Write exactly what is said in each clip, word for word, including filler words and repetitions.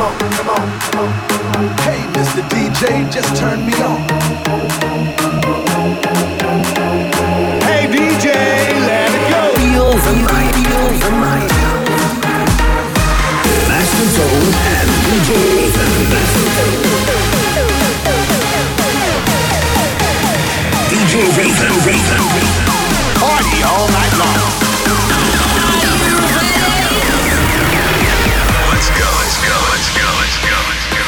on, come on, come on. Hey, Mister D J, just turn me on. Hey D J, let it go. Feel the night, feel the night. Master Tone and D J Raven. D J Raven, Raven. Party all night long. Let's go, let's go, let's go, let's go, let's go.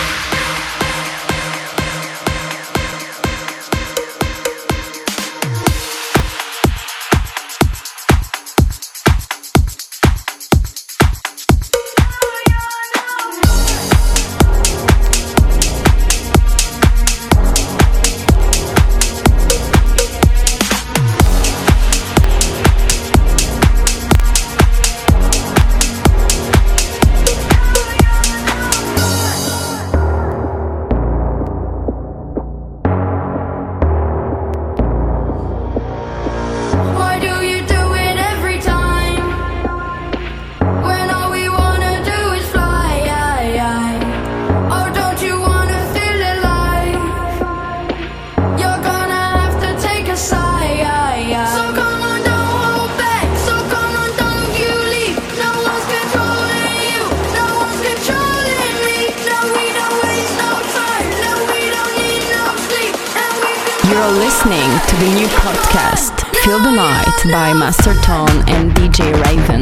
You're listening to the new podcast, Feel the Night by Master Tone and D J Raven.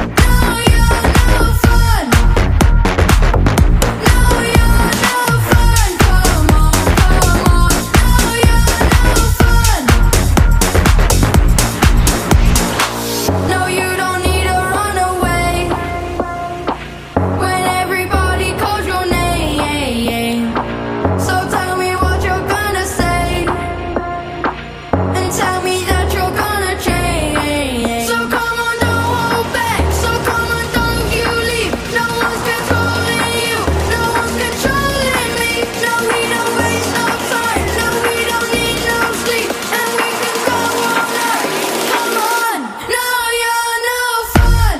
Tell me that you're gonna change. So come on, don't hold back. So come on, don't you leave. No one's controlling you. No one's controlling me. No, we don't waste no time. No, we don't need no sleep. And we can go all night. Come on. No, you're no fun.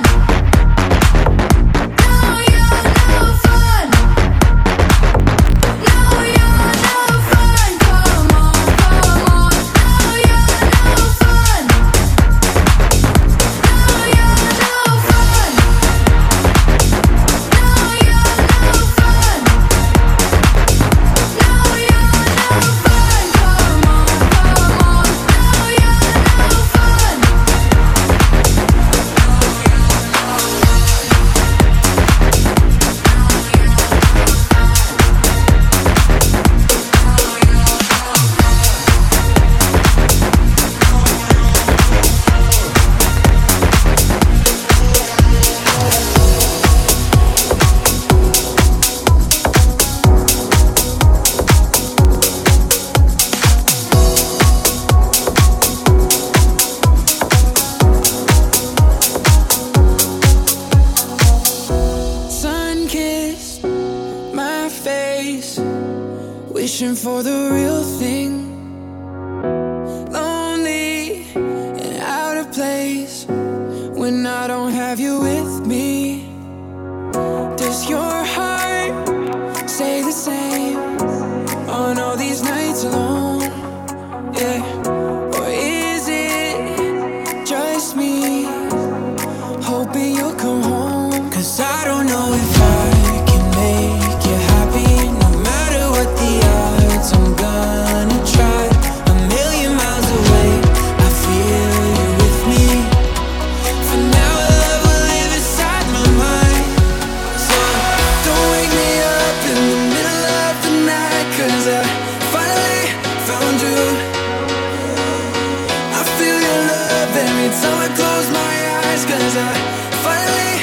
No, you're no fun. No, you're no fun. Come on, come on. No, you're no fun. No, you're no fun. No, you're no fun. No, you're no fun. Come on, come on. No, you're no fun. Sun kissed my face, wishing for the real thing. Lonely and out of place when I don't have you with me. Does your heart say the same on all these nights alone? Yeah. Or is it just me hoping you'll come home? 'Cause I don't know if I can make you happy. No matter what the odds, I'm gonna try. A million miles away, I feel you with me. For now, love will live inside my mind. So don't wake me up in the middle of the night, 'cause I finally found you. I feel your love every time I close my eyes, 'cause I finally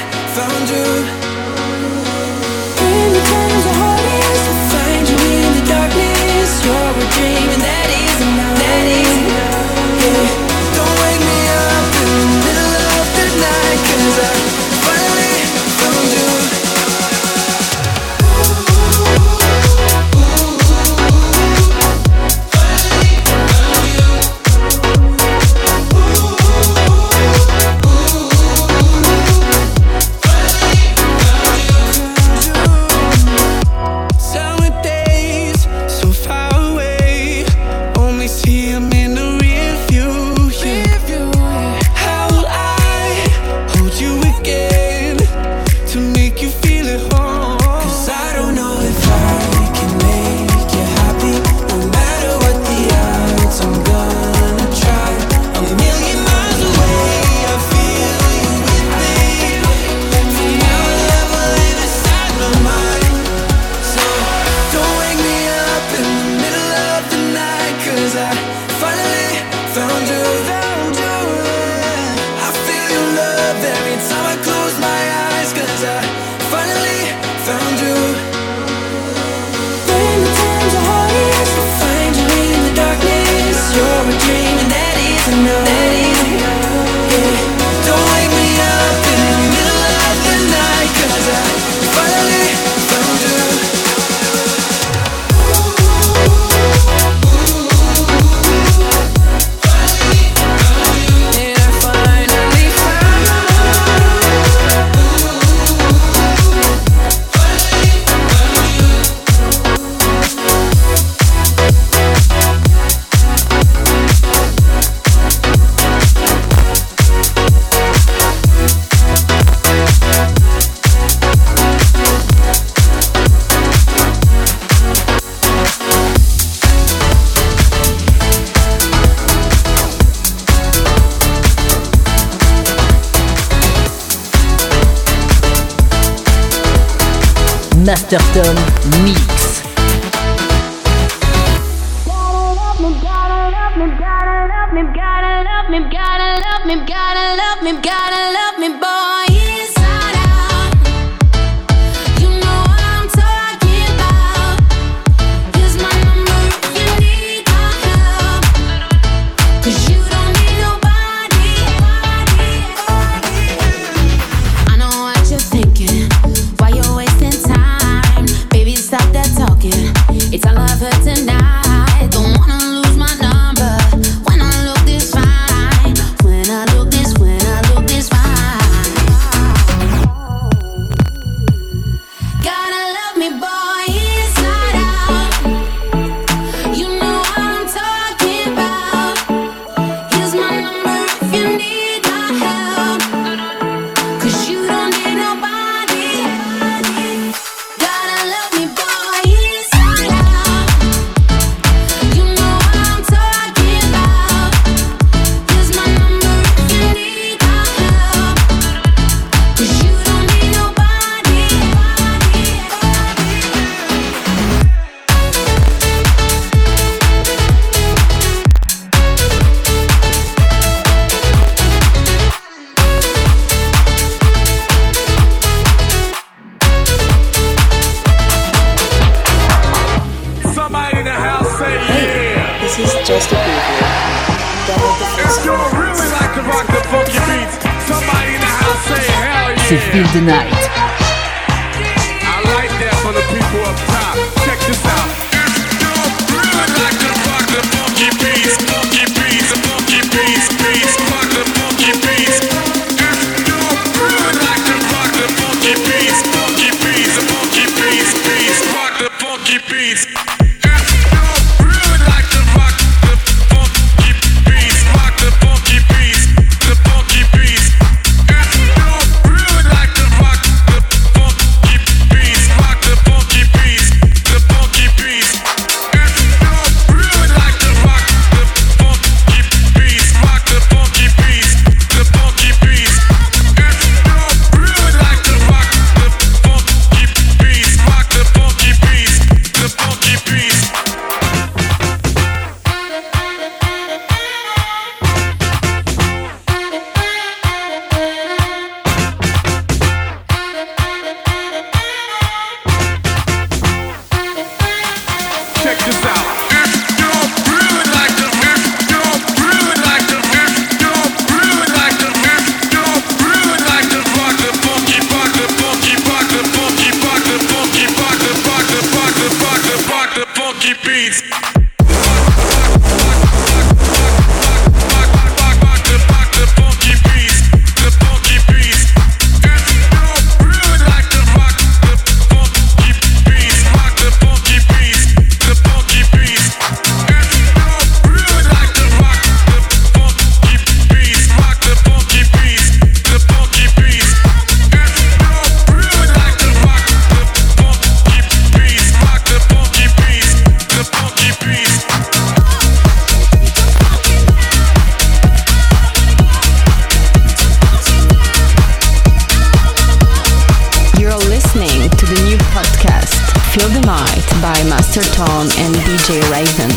Masterton Mix. Gotta love me, gotta love me, gotta love me, gotta love me, gotta love me, gotta love me, gotta love me, boy, inside out. You know what I'm talking about. Here's my number if you need my help. 'Cause you don't need nobody. I know what you're thinking. Why you're wasting time? Baby, stop that talking. It's all of her tonight. Don't wanna lose my number when I look this fine. When I look this, when I look this fine. Gotta love me, boy, inside out. You know what I'm talking about. Here's my number if you need my help. 'Cause you don't need nobody. Gotta love me, boy, inside out. You know what I'm talking about. Here's my number if you need my help. 'Cause you don't need nobody. Somebody in the house say yeah. This is just a preview. Download the If first you one. really like to rock the funky beats, somebody in the house say hell C'est yeah. Feel the Night. I like that for the people up top. Check this out. If you really like to rock the funky beats, funky beats, the funky beats, beats, rock the funky beats. If you really like to rock the funky beats, funky beats, the funky beats, beats, rock the funky beats. If you really like to rock the funky beats, rock the funky beats, the funky beats. If you really like to rock the funky beats, rock the funky beats, the funky beats. If you really like to rock the funky beats, rock the funky beats, the funky beats. If you really like to rock the funky beats, rock the funky beats, the funky beats. Check this out. If you really like to, if you really like to, if you really like to, if you really like to rock the funky, rock the funky, rock the funky, rock the funky, rock the, rock the, rock the, rock the, rock the funky beats. You're listening to the new podcast, Feel the Night by Master Tone and D J Raven.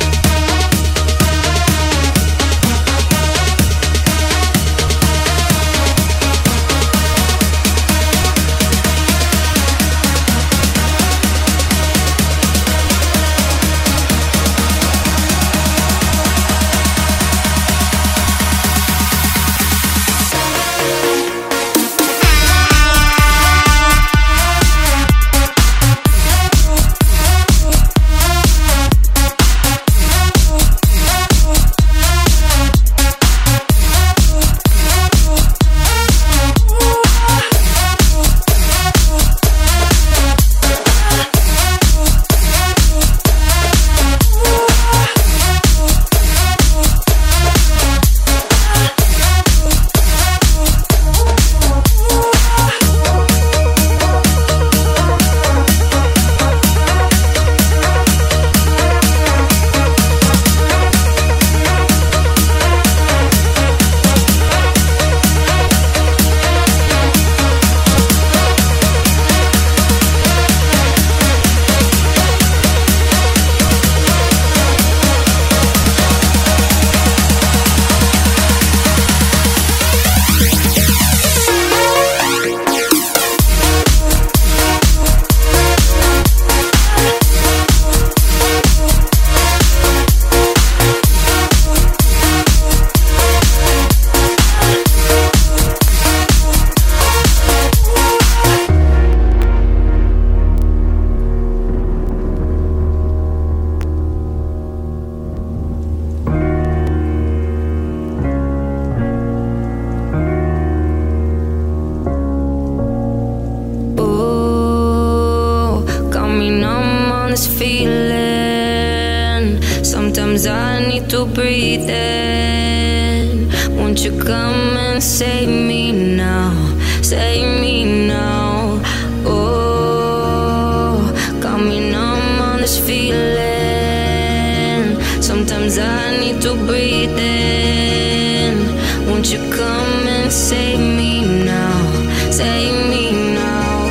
Gotta feeling. Sometimes I need to breathe in. Won't you come and save me now? Save me now. Oh, got me numb on this feeling. Sometimes I need to breathe in. Won't you come and save me now? Save me now.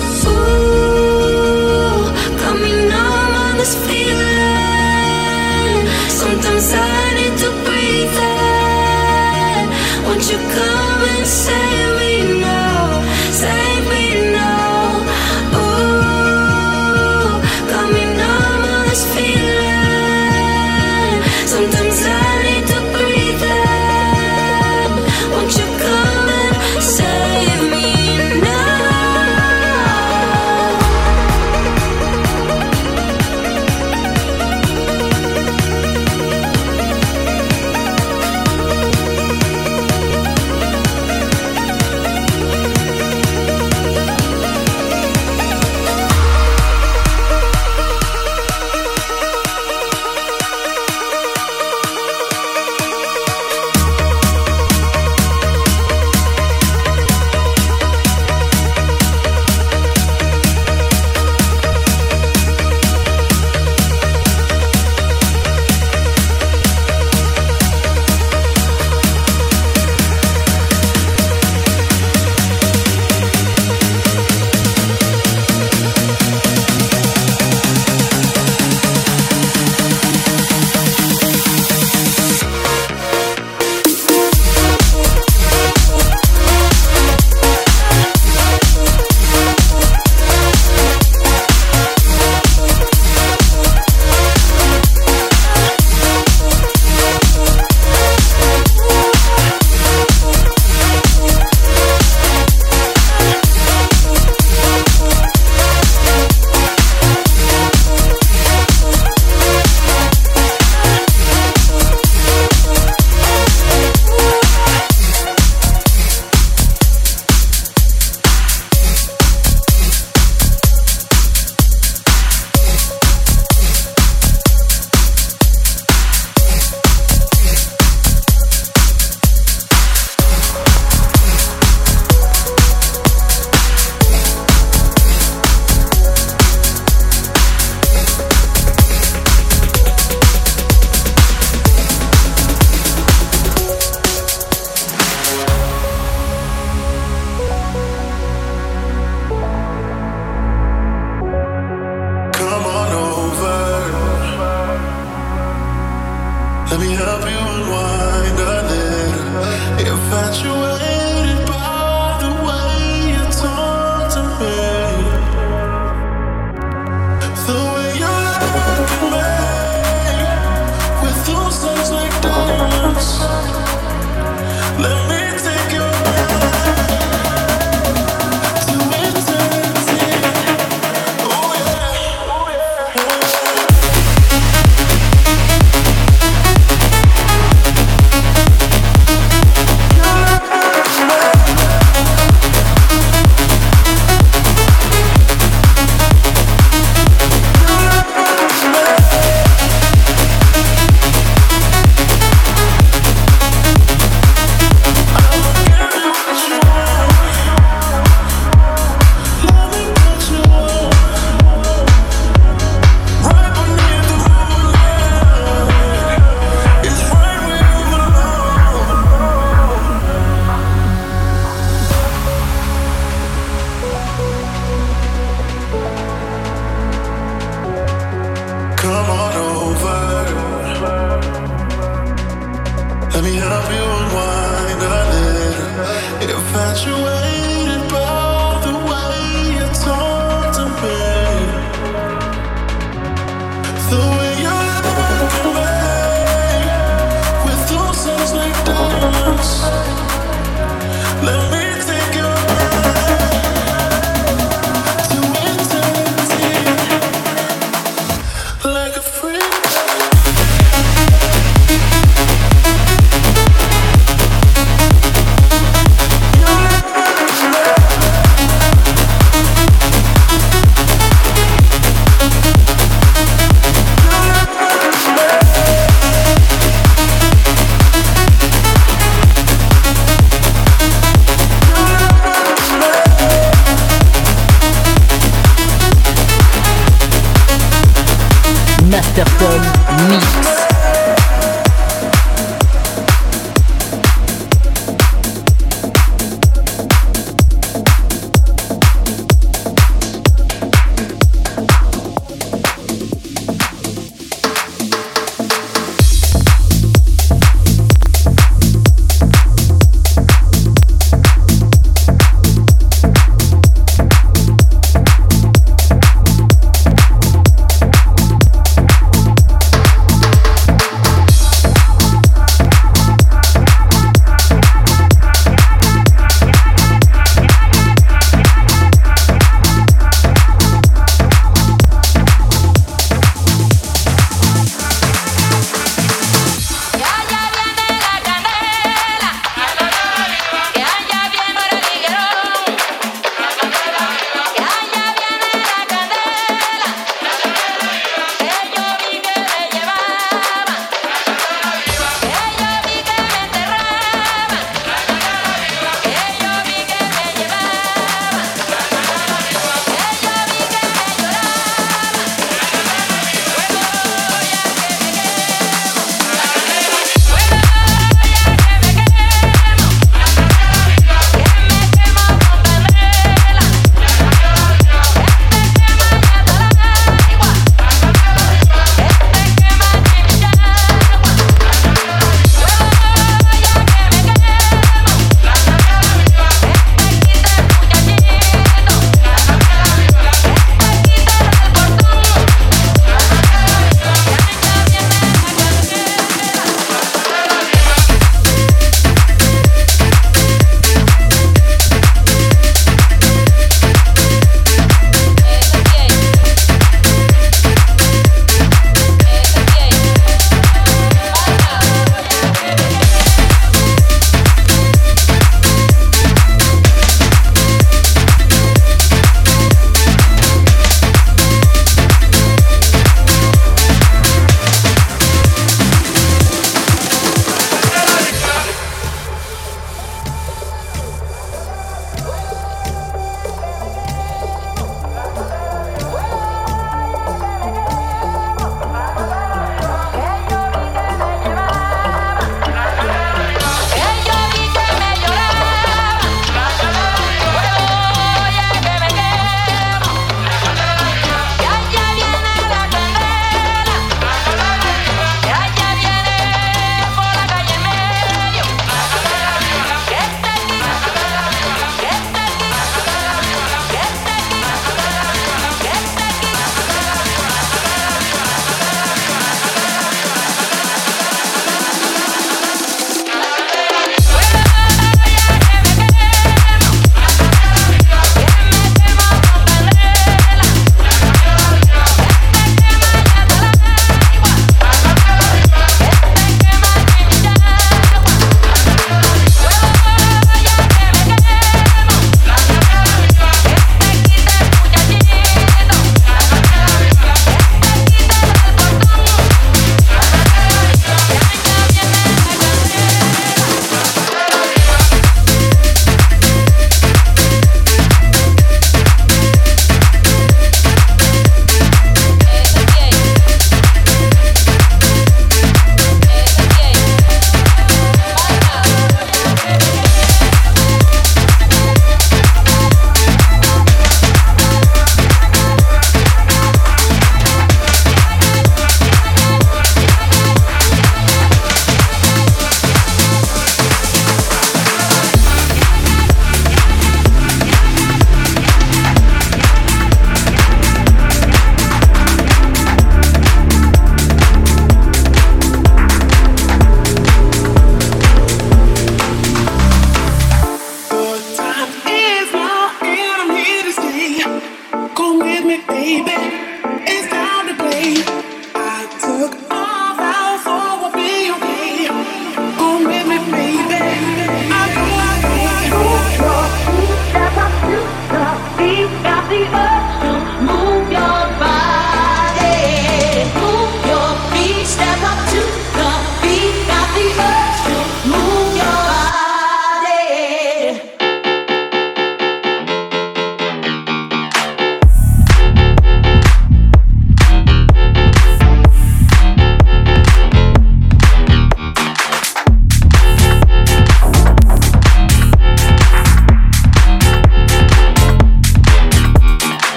Ooh, got me numb on this feeling. Sometimes I need to breathe in. Won't you come and save me now? Save me now. Ooh, got me numb on this feeling. Sometimes I need to breathe in. Won't you come and save me now? Let me help you unwind a little. Infatuated by the way you talk to me, the way you look at me with those things like diamonds. Let me take you back to eternity. Oh yeah, oh yeah, oh yeah. Come on over. Let me help you unwind a little. Infatuated by the way you talk to me, the way you look at me with those eyes like diamonds. Let me take you back to eternity. Like a freak. Masterton Mix.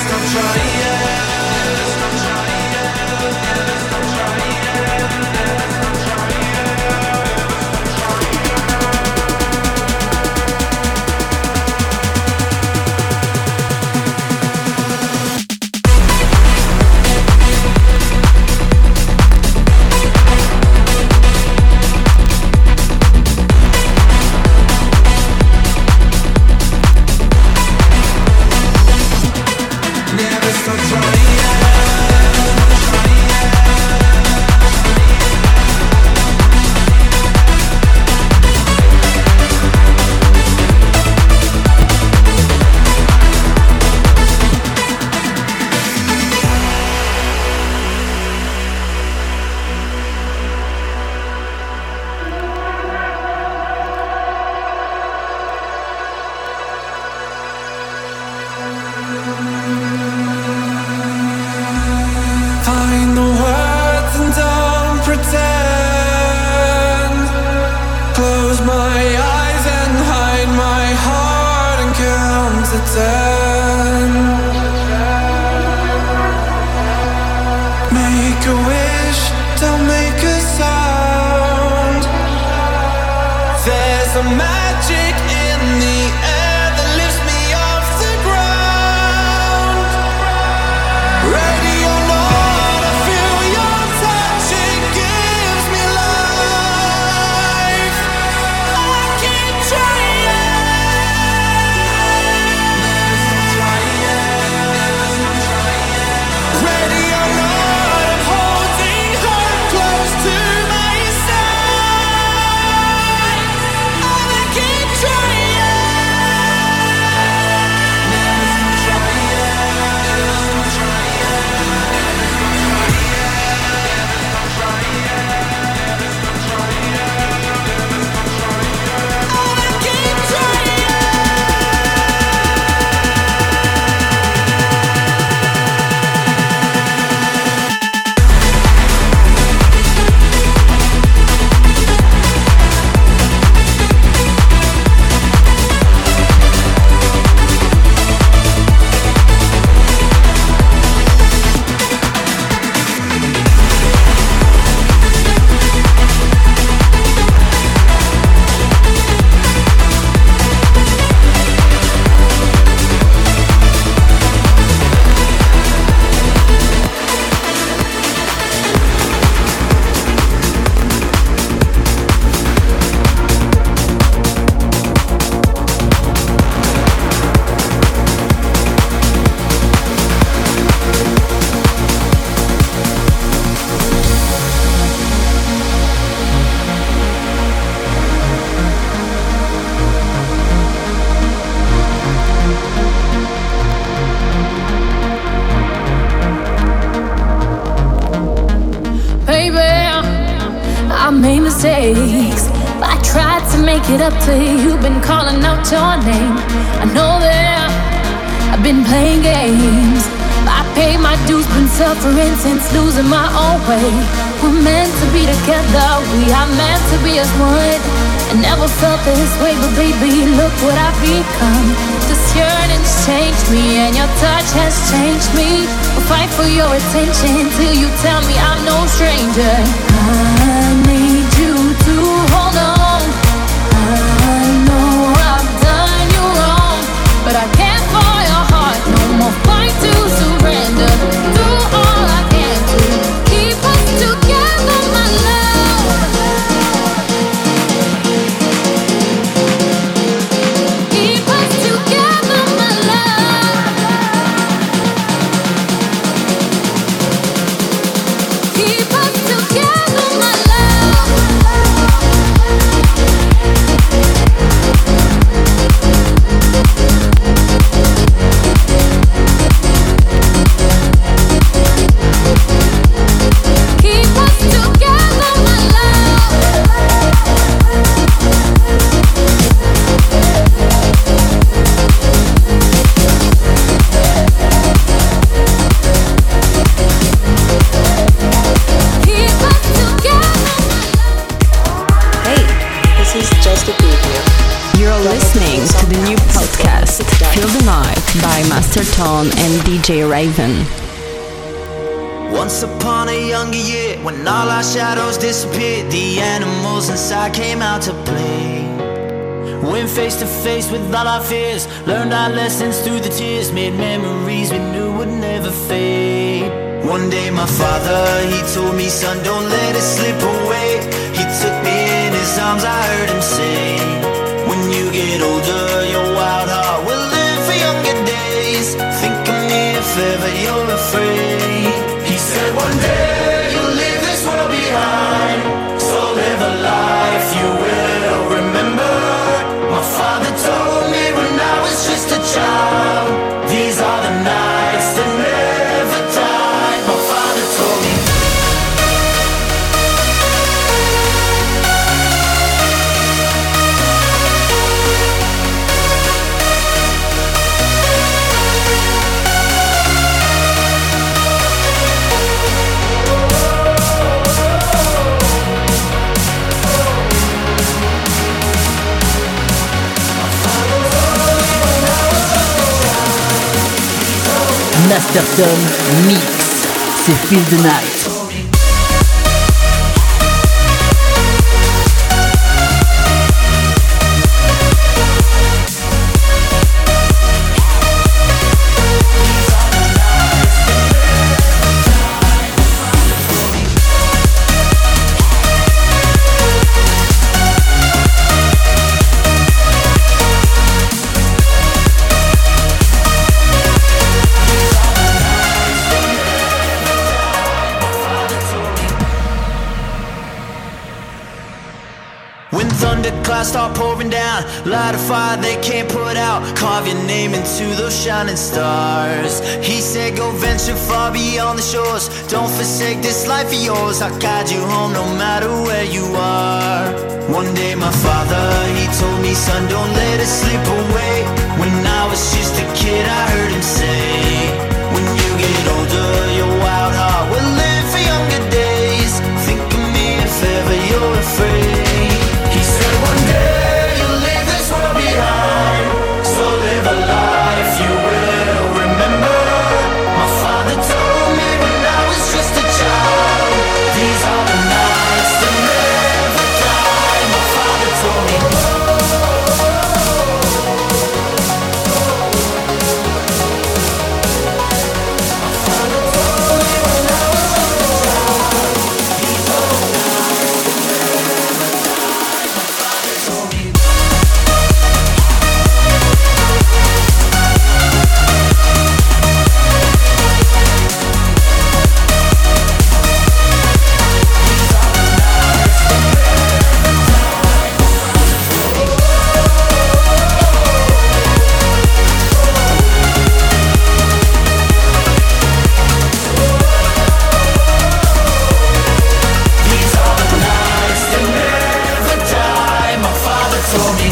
mistakes, but I tried to make it up to you. You've been calling out your name. I know that I've been playing games. I paid my dues, been suffering since losing my own way. We're meant to be together, we are meant to be as one. I never felt this way, but baby, look what I've become. This yearning's changed me, and your touch has changed me. I'll fight for your attention till you tell me I'm no stranger. I need you to hold on. I know I've done you wrong, but I can't for your heart. No more fight to surrender. Do all I can to keep us together, my love. Keep us together, my love. Keep us together, my love. Feel the Night by Master Tone and D J Raven. Once upon a younger year, when all our shadows disappeared, the animals inside came out to play. Went face to face with all our fears, learned our lessons through the tears, made memories we knew would never fade. One day my father, he told me, son, don't let it slip away. He took me in his arms, I heard him say, when you get older, your wild heart will live for younger days. Think of me if ever you're afraid. He said one day you'll leave this world behind, so live a life you will remember. My father told me when I was just a child, these are the nights that never die. My father told me. Masterton Mix, c'est Feel the Night. Clouds start pouring down, light a fire they can't put out, carve your name into those shining stars. He said go venture far beyond the shores, don't forsake this life of yours, I'll guide you home no matter where you are. One day my father, he told me, son, don't let it slip away. When I was just a kid I heard him say, when you get older your wild heart will live for younger days. Think of me if ever you're afraid. He said one day you'll leave this world behind, so live a life you will remember. My father told me when I was just a child, these are the nights that never die. My father told me. My father told me when I was just a child, these are the nights that never die. My father told me. These are the nights that never die. My father told me.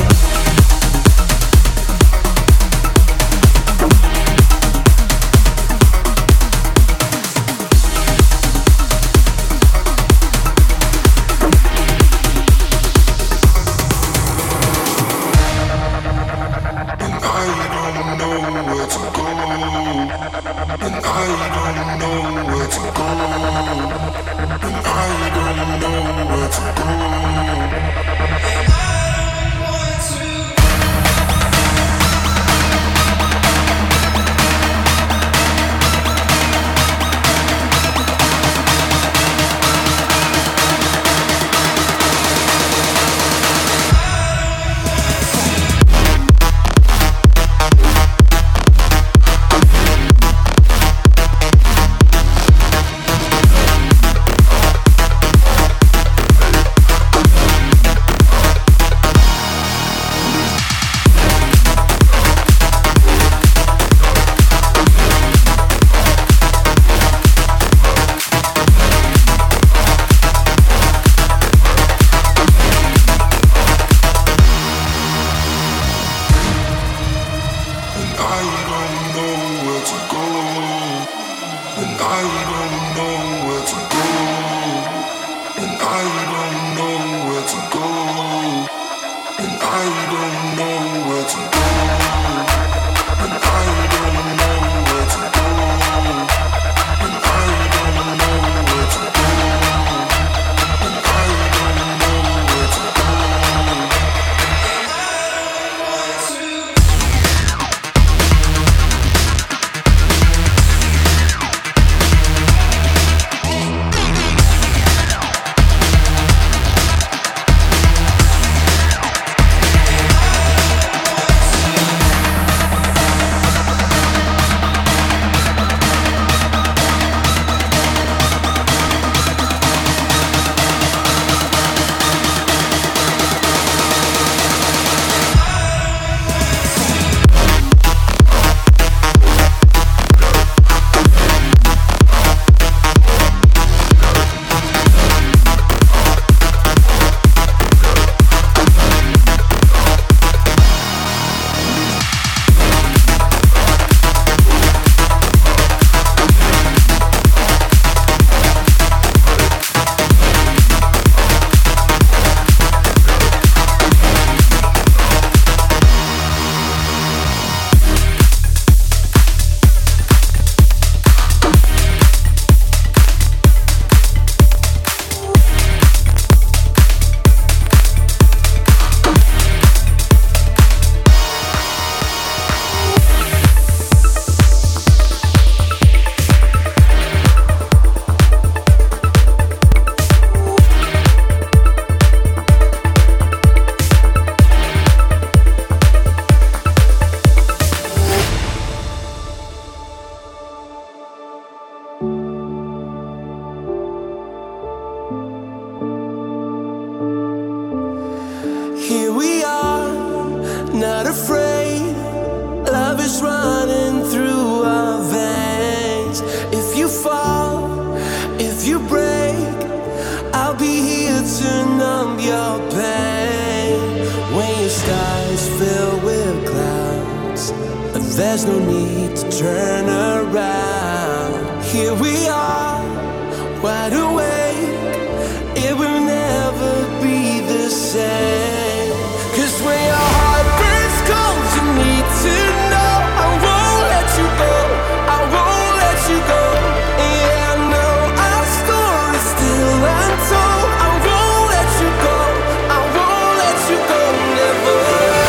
there's no need to turn around. Here we are, wide awake. It will never be the same. Cause when your heart breaks cold, you need to know I won't let you go, I won't let you go. Yeah, I know our story's still untold. I won't let you go, I won't let you go, never.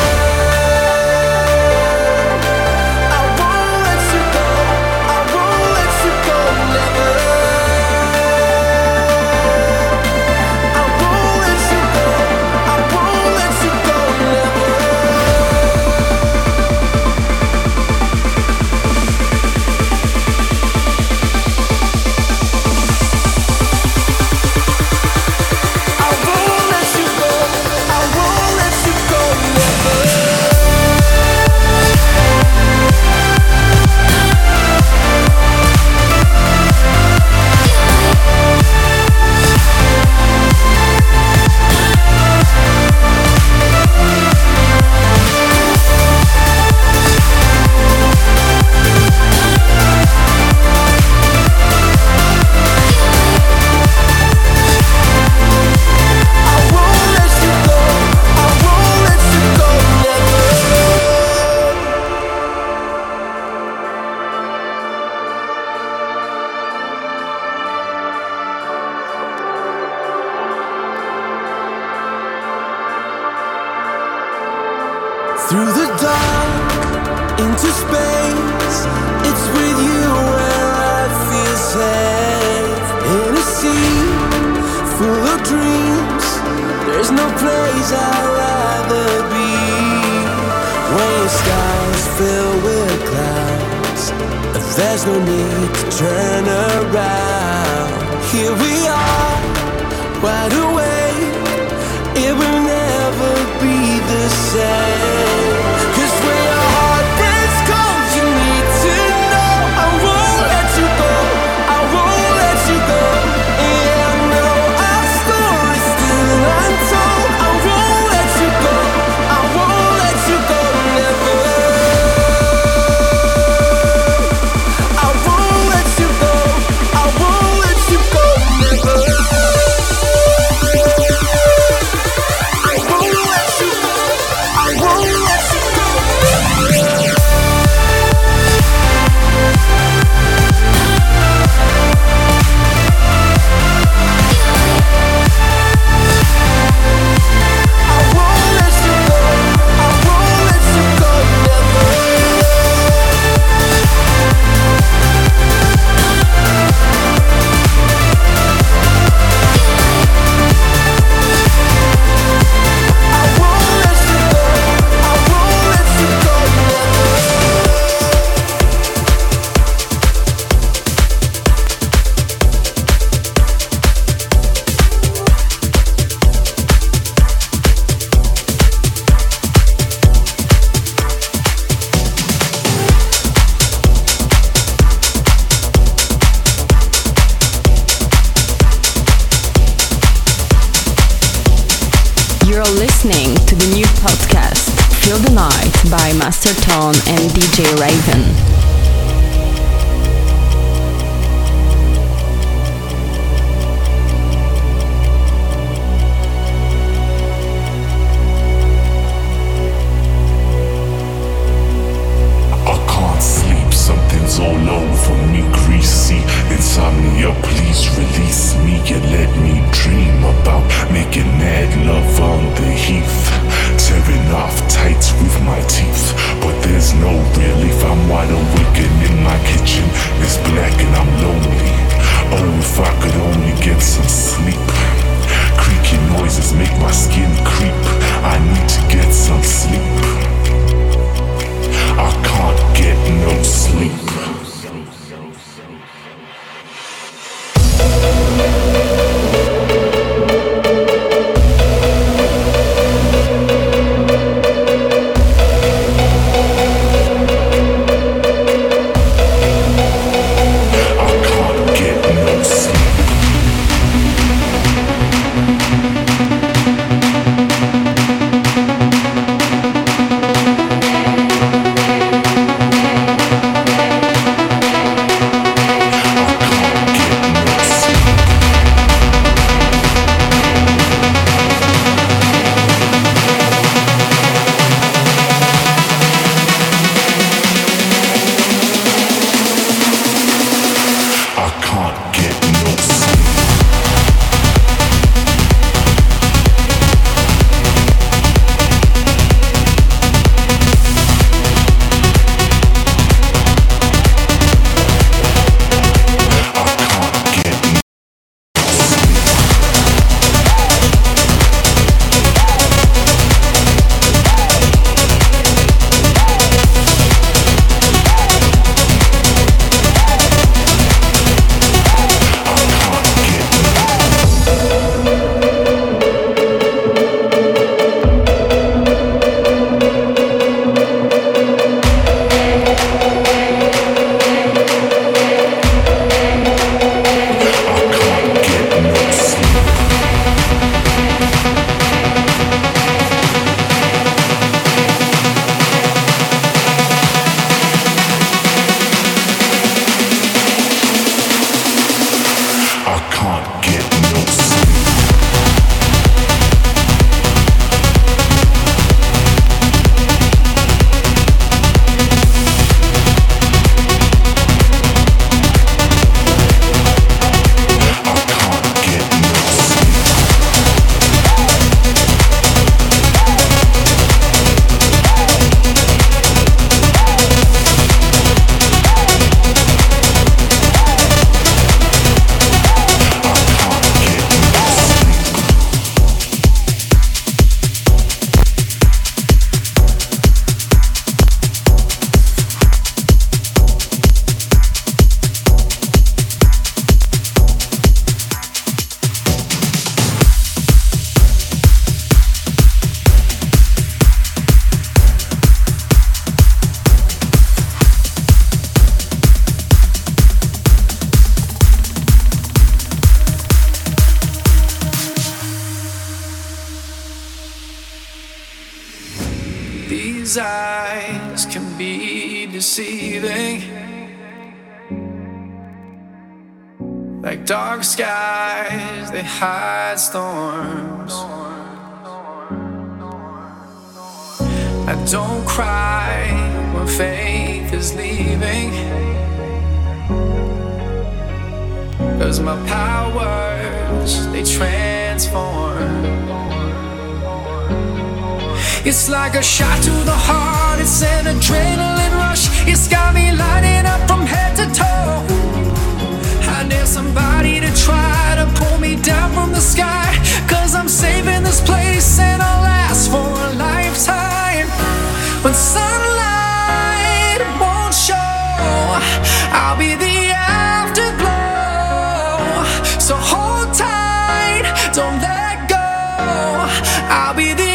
I won't let you go, I won't let you go, never. I won't let you go, I won't let you go, never. I won't let you go, I won't let you go, never. Through the dark, into space, it's with you where I feel safe. In a sea full of dreams, there's no place I'd rather be. When skies fill with clouds, there's no need to turn around. Here we are, wide awake. It will never be the same. Cause when your heart breaks cold, you need to know I won't let you go, I won't let you go. Yeah, I know our story's still untold. I won't let you go, I won't let you go, never. I won't let you go, I won't let you go, never. Listening to the new podcast Feel the Night by Master Tone and D J Raven. Something's all over me, greasy insomnia, please release me and let me dream about making mad love on the heath, tearing off tights with my teeth, but there's no relief. I'm wide These eyes can be deceiving, like dark skies, they hide storms. I don't cry when faith is leaving, 'cause my powers, they transform. It's like a shot to the heart, it's an adrenaline rush. It's got me lighting up from head to toe. I need somebody to try to pull me down from the sky, 'cause I'm saving this place and I'll last for a lifetime. When sunlight won't show, I'll be the afterglow. So hold tight, don't let go. I'll be the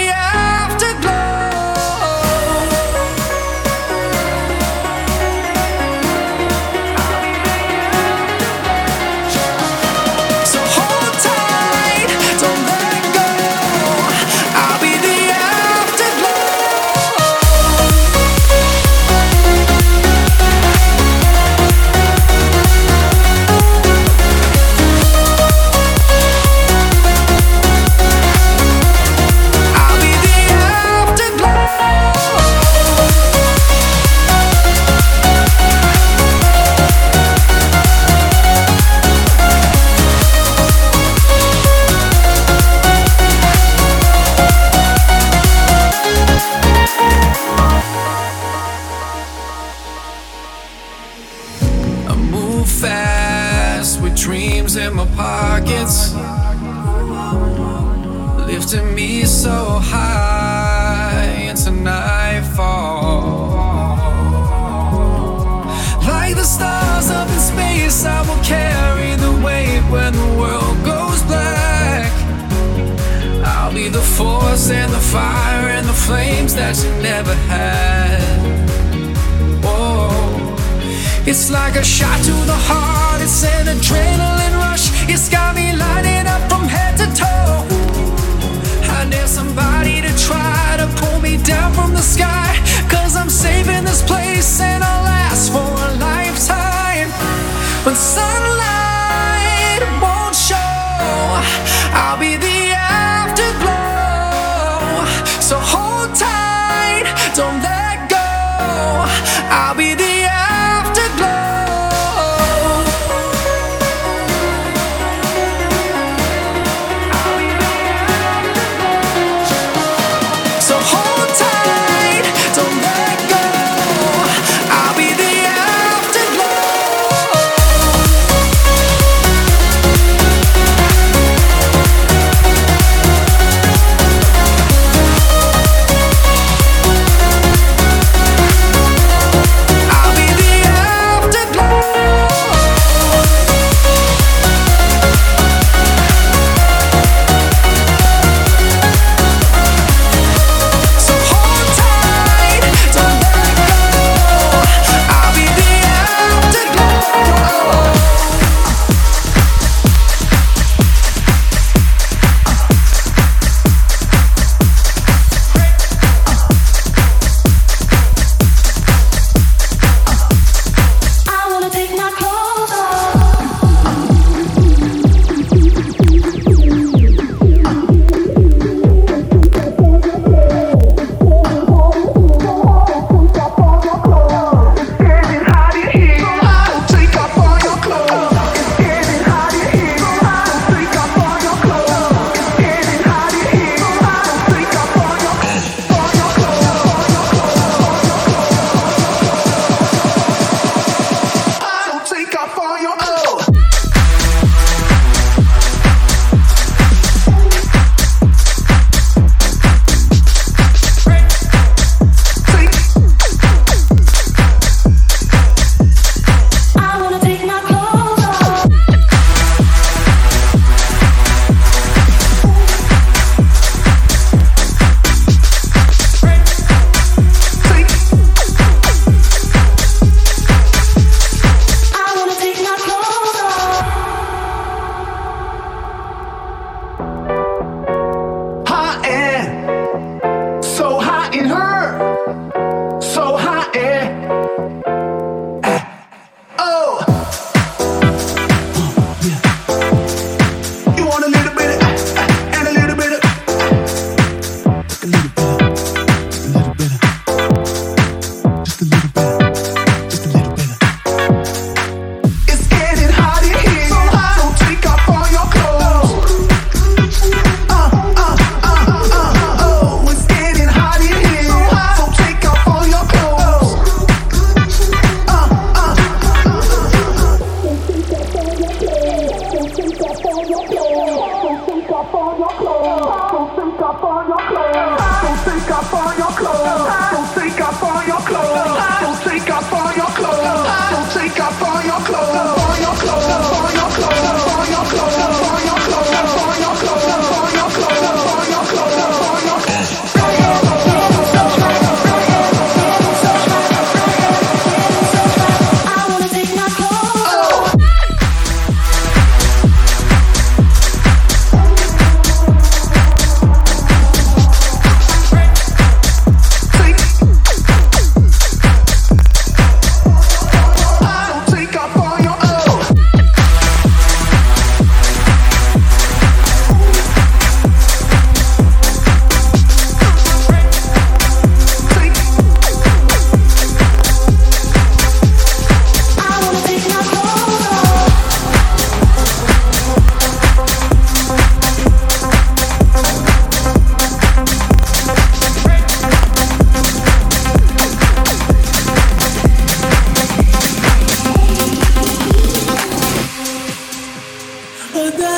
in my pockets, lifting me so high into nightfall. Like the stars up in space, I will carry the weight when the world goes black. I'll be the force and the fire and the flames that you never had. Oh, it's like a shot to the heart, it's an adrenaline rush. It's got me lighting up from head to toe. I need somebody to try to pull me down from the sky, 'cause I'm saving this place and I'll last for a lifetime. When sunlight won't show, I'll be the afterglow. So hold tight, don't let go. I'll be the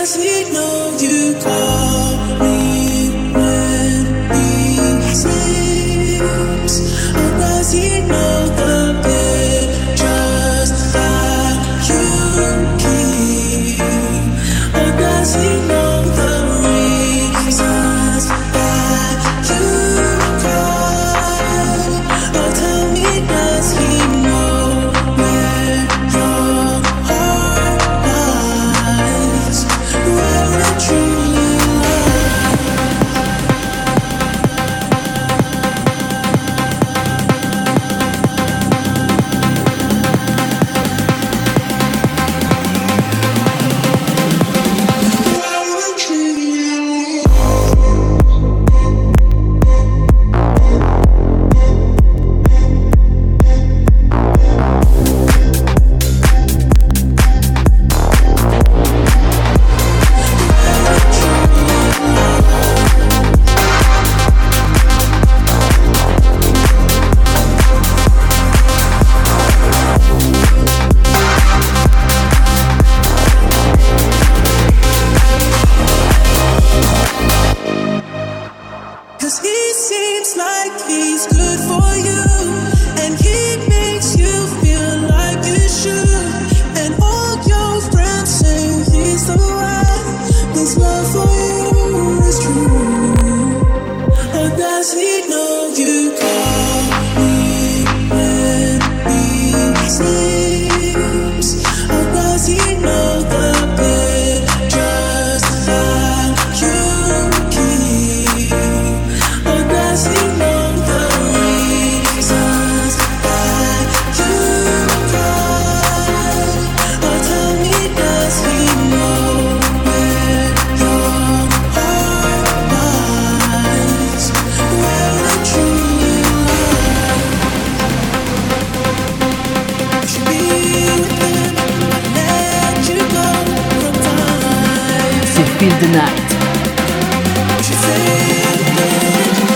does he know you call me when he sleeps? Or does he know the pictures that you keep? Or does he know the reasons that you cry? Or tell me, does he know where your heart lies? Where it truly lies? Cause he seems like he's good for you, and he makes you feel like you should. And all your friends say he's the one. His love for you is true. Or does he know you call me when he sleeps? Or does he know the pictures that you keep? Or does he know the reasons that you cry? Or tell me, does he know where your heart lies? Where it truly lies? You should be with him, let you go from time. C'est Feel the Night. You should stay with him.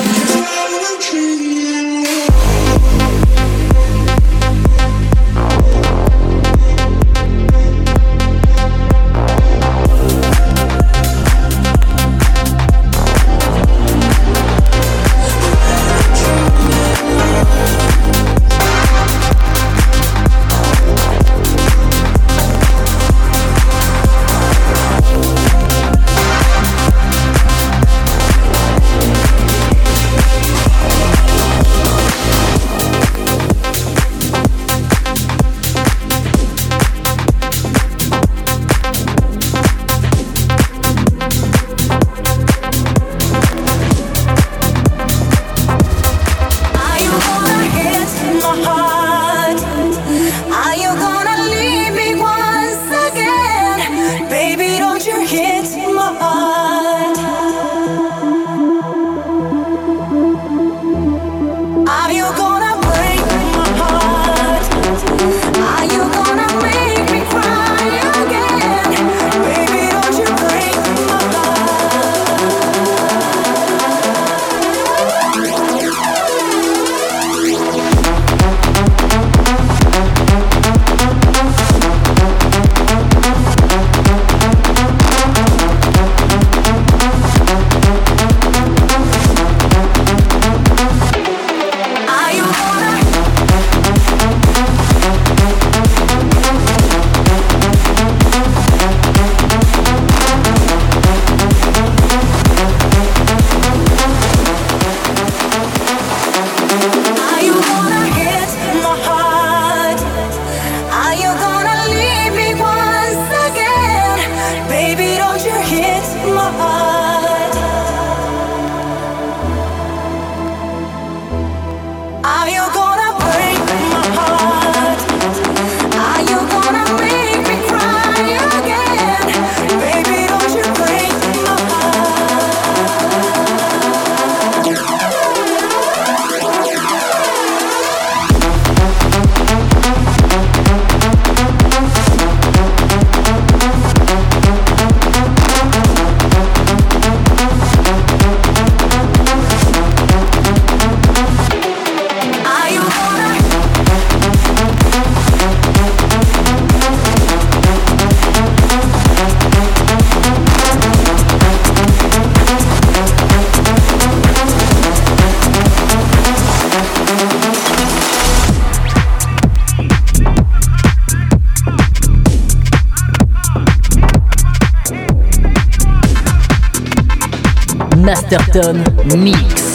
Masterton Mix.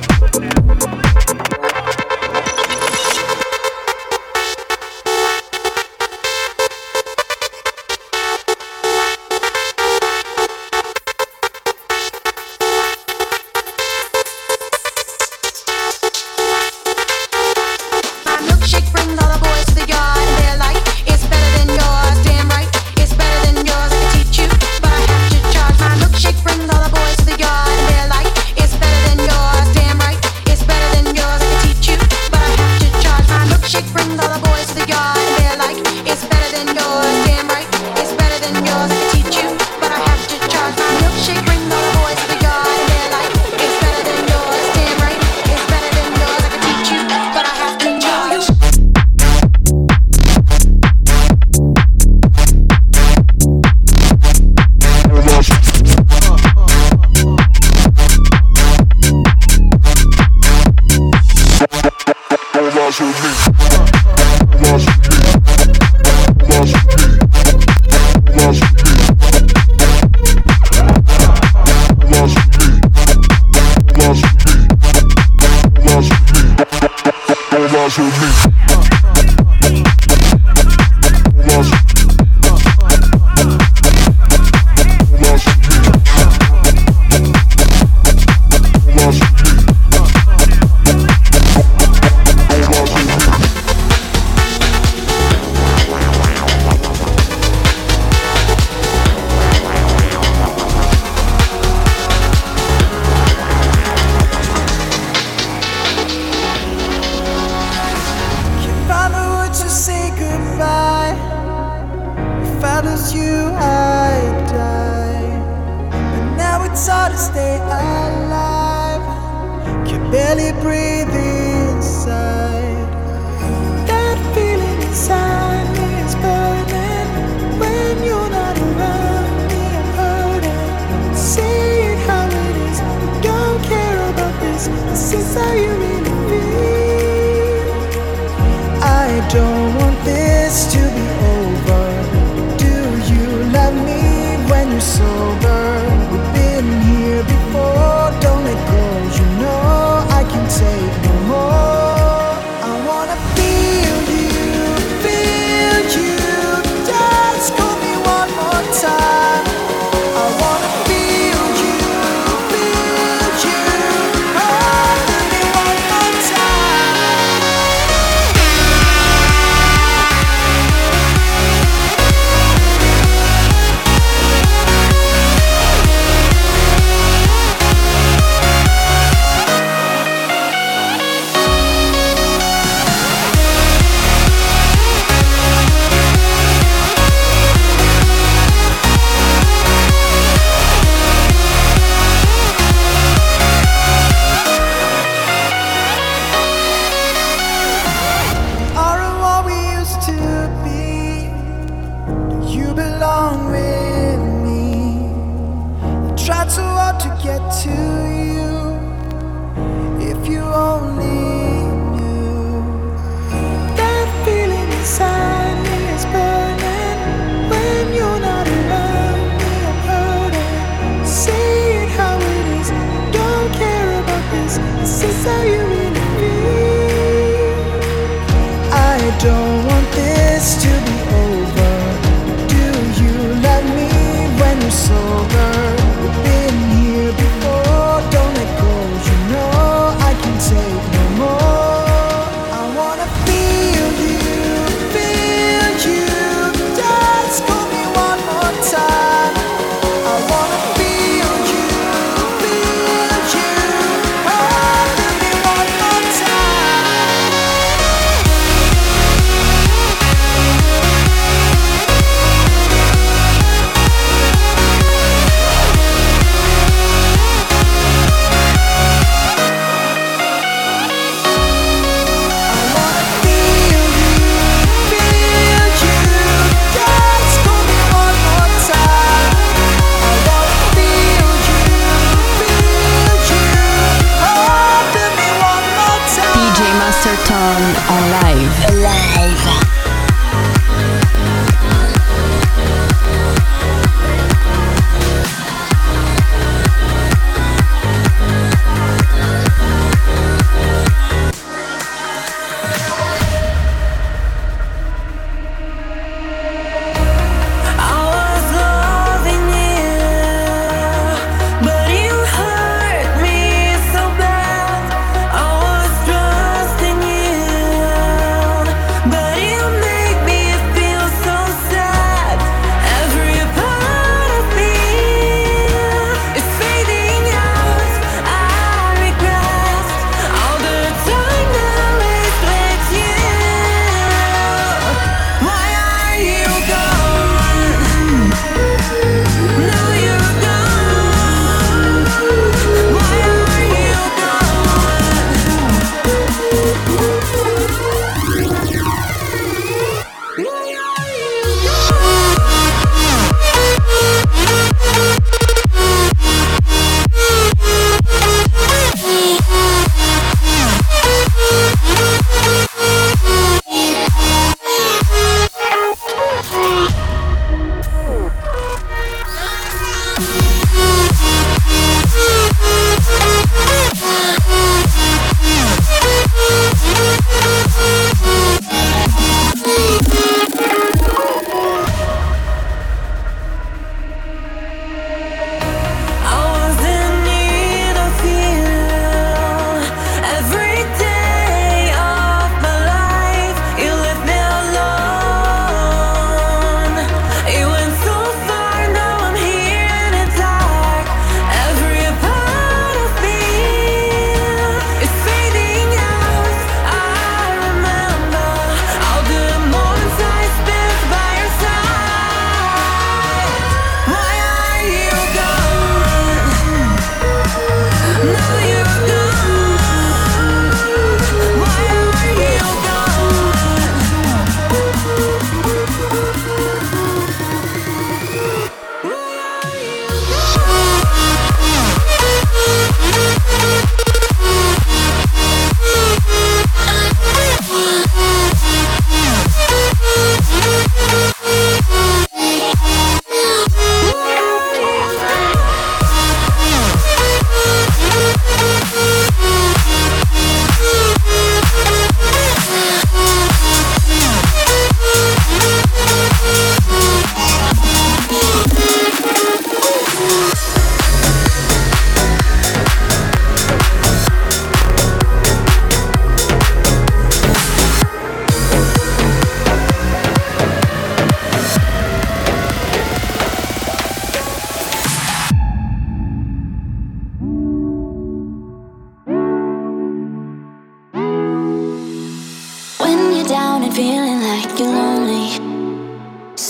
Don't want this to be over. Do you love me when you're sober? We've been here before. Don't let go. You know I can take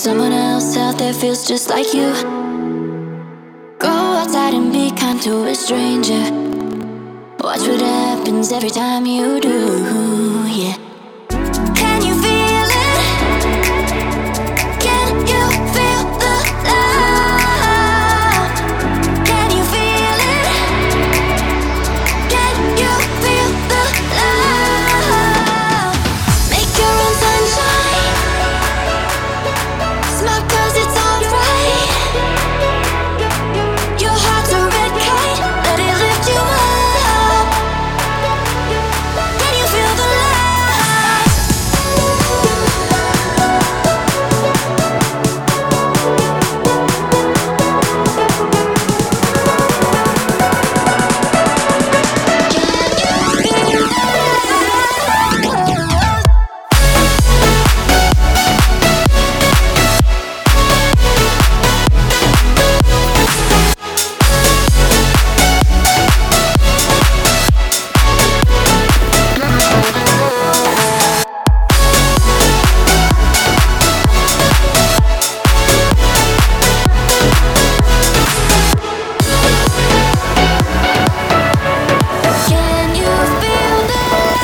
Someone else out there feels just like you. Go outside and be kind to a stranger. Watch what happens every time you do, yeah. Can you feel it? Can you feel the love? Can you feel it? Can you feel the love? Make your own sunshine. Smile 'cause it's alright. Your heart's a red kite, let it lift you up. Can you feel the love? Can you feel the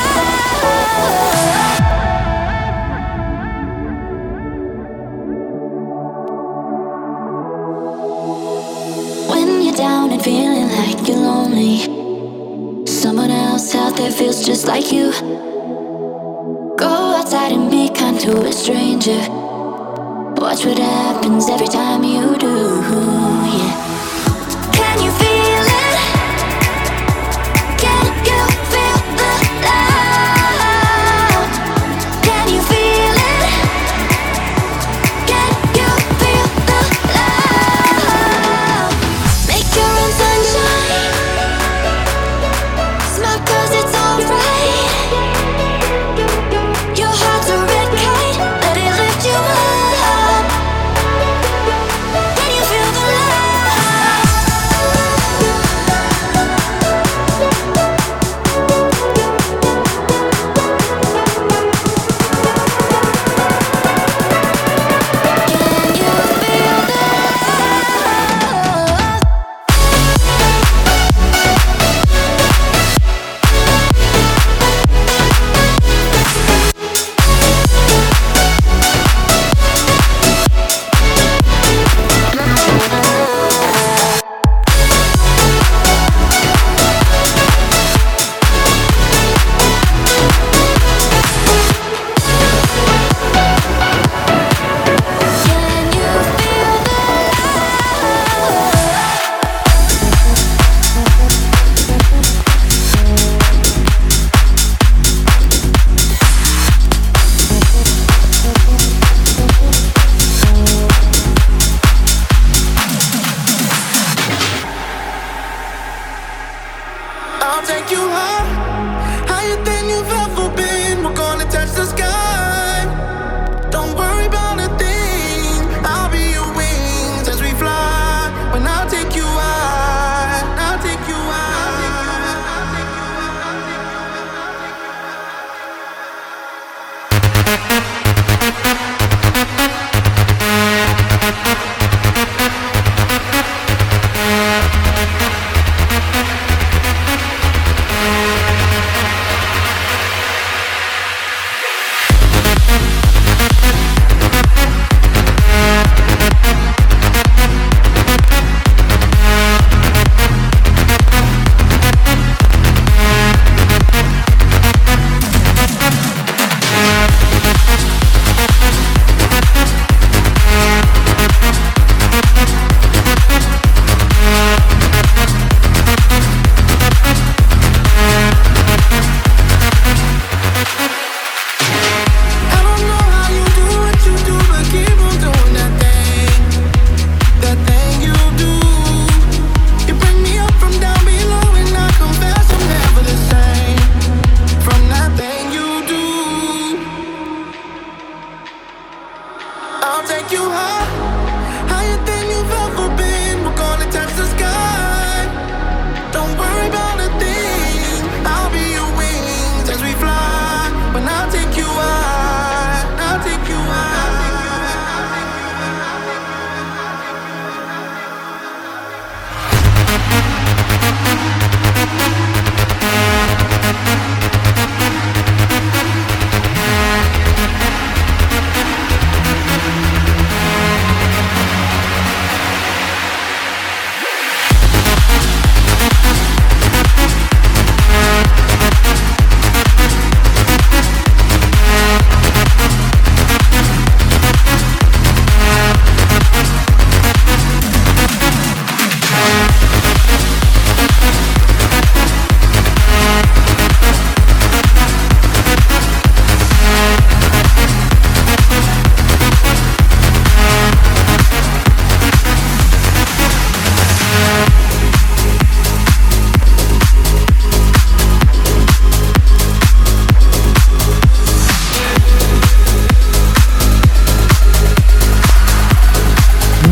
love? When you're down and feeling like you're lonely, someone else out there feels just like you. Go outside and be kind to a stranger. Watch what happens every time you do, yeah. Can you feel it? Can you feel the love? Can you feel it? Can you feel the love? Make your own sunshine. Smile 'cause it's alright. Your heart's a red kite, let it lift you up. Can you feel the love? Can you feel the love? Can you feel the I'll take you high, higher than you've ever been. We're gonna touch the sky. Don't worry about a thing. I'll be your wings as we fly. When I'll take you high, I'll take you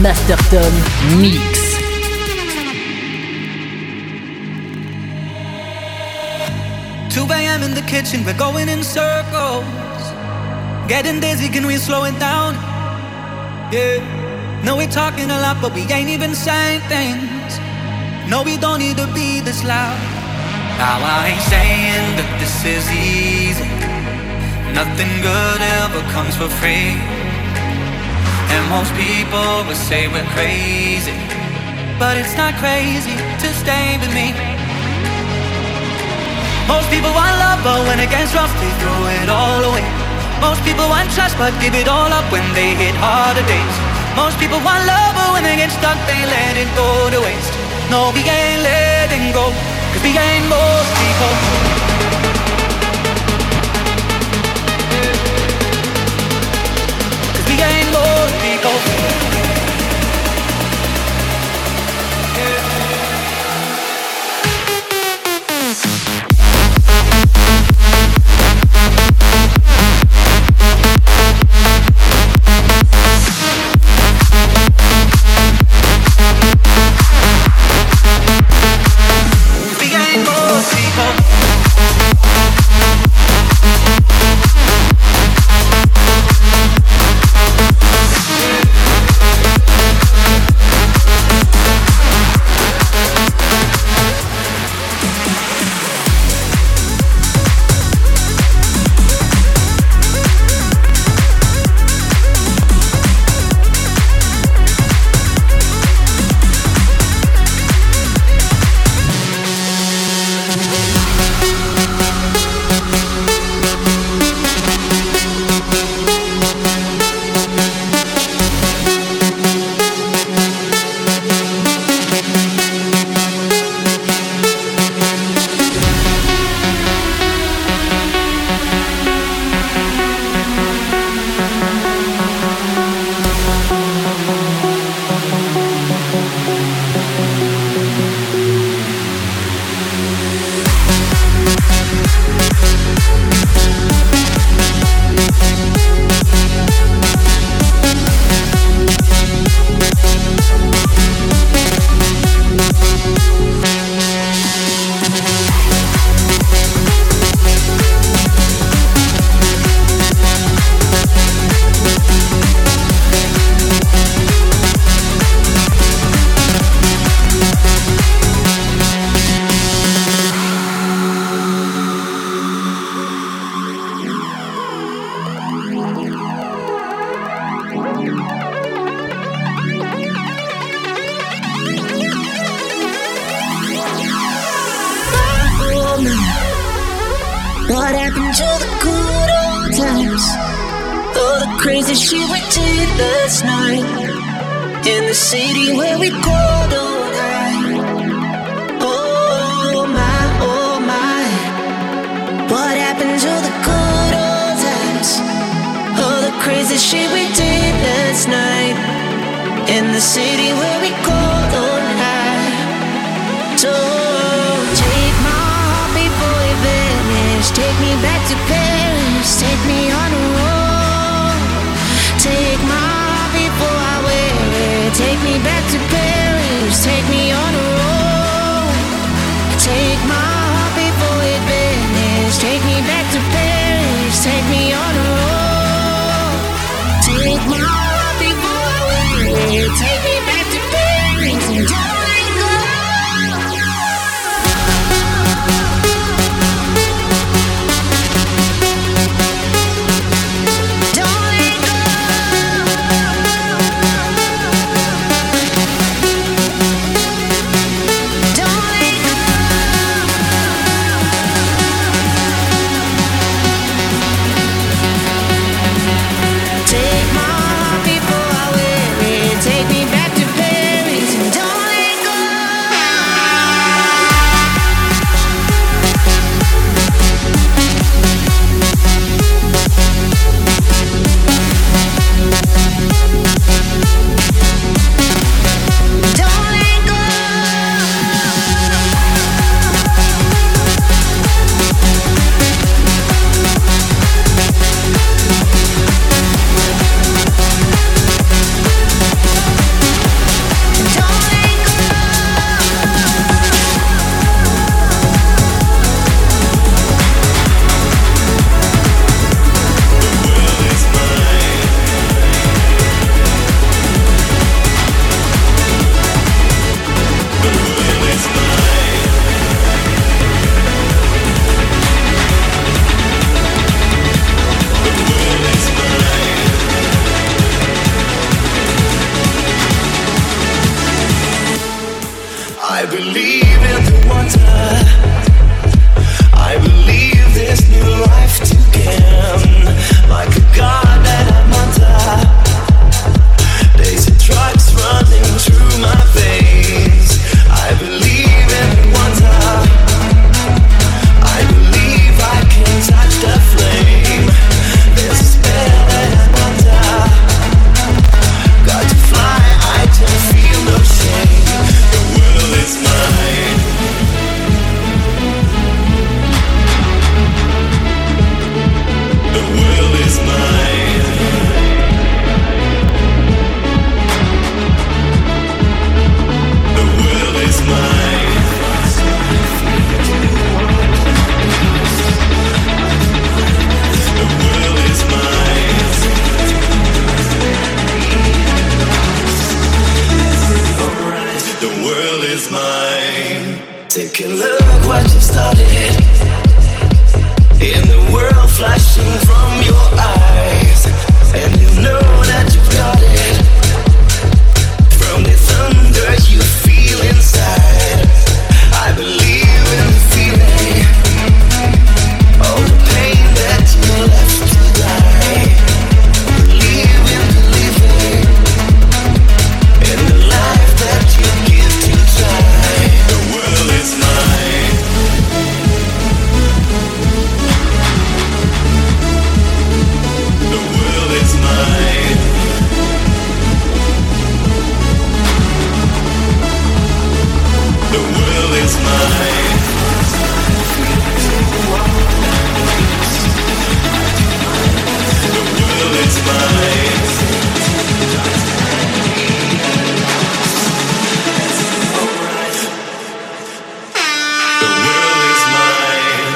Masterton Mix. two a.m. in the kitchen, we're going in circles. Getting dizzy, can we slow it down? Yeah. No, we're talking a lot, but we ain't even saying things. No, we don't need to be this loud. Now I ain't saying that this is easy. Nothing good ever comes for free. And most people will say we're crazy, but it's not crazy to stay with me. Most people want love, but when it gets rough, they throw it all away. Most people want trust, but give it all up when they hit harder days. Most people want love, but when they get stuck, they let it go to waste. No, we ain't letting go, cause we ain't most people. Cause we ain't most people. What happened to the good old times? Oh, the crazy shit we did last night in the city where we called all night. Oh my, oh my. What happened to the good old times? Oh, the crazy shit we did last night in the city where we called all night. So take my heart before it vanished. Take me back to Paris. Take me on a road. Take my heart before I wear it. Take me back to Paris. Take me on a road. Take my heart before it vanished. Take me back to Paris. Take me on a road. Take my heart before I wear it. Take me back to Paris and don't let go. Don't let go. Take a look what you started. In the world flashing from your eyes, and you know that you've got it. From the thunder you feel inside, I believe in the feeling. All the pain that you left to die, believe in the living, in the life that you give to try. The world is mine. The world is mine. The world is mine. The world is mine. The world is mine.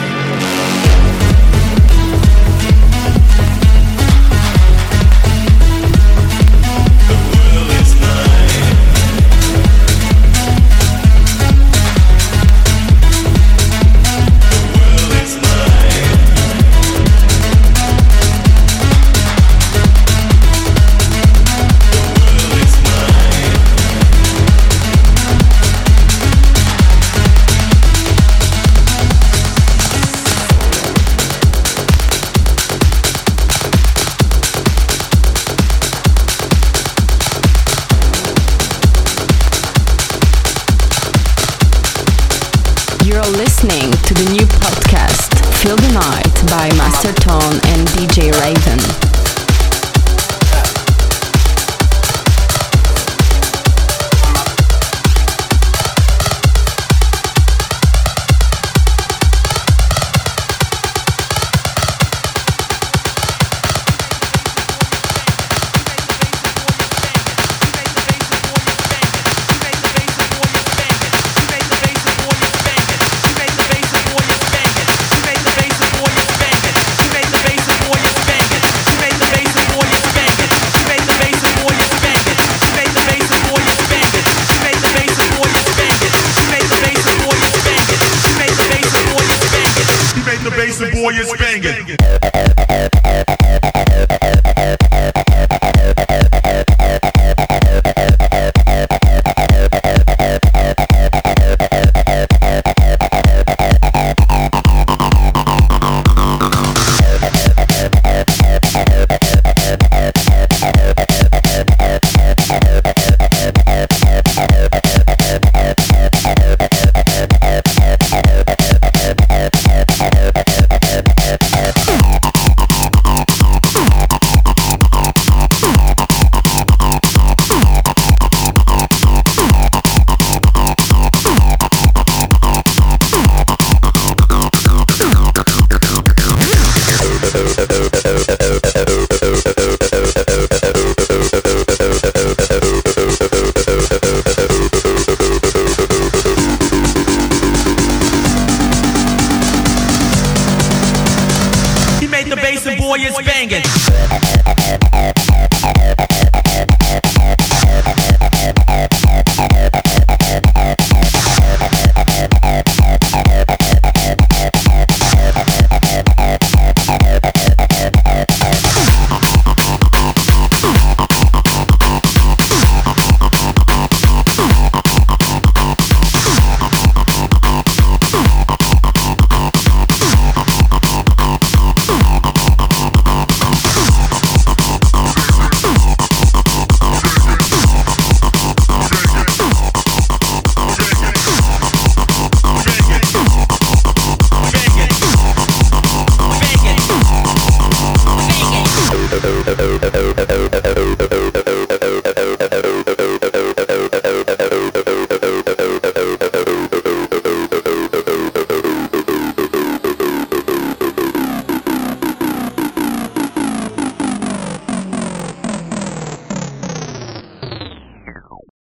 The world is mine. You're listening to the new podcast Feel the Night by Master Tone and D J Raven.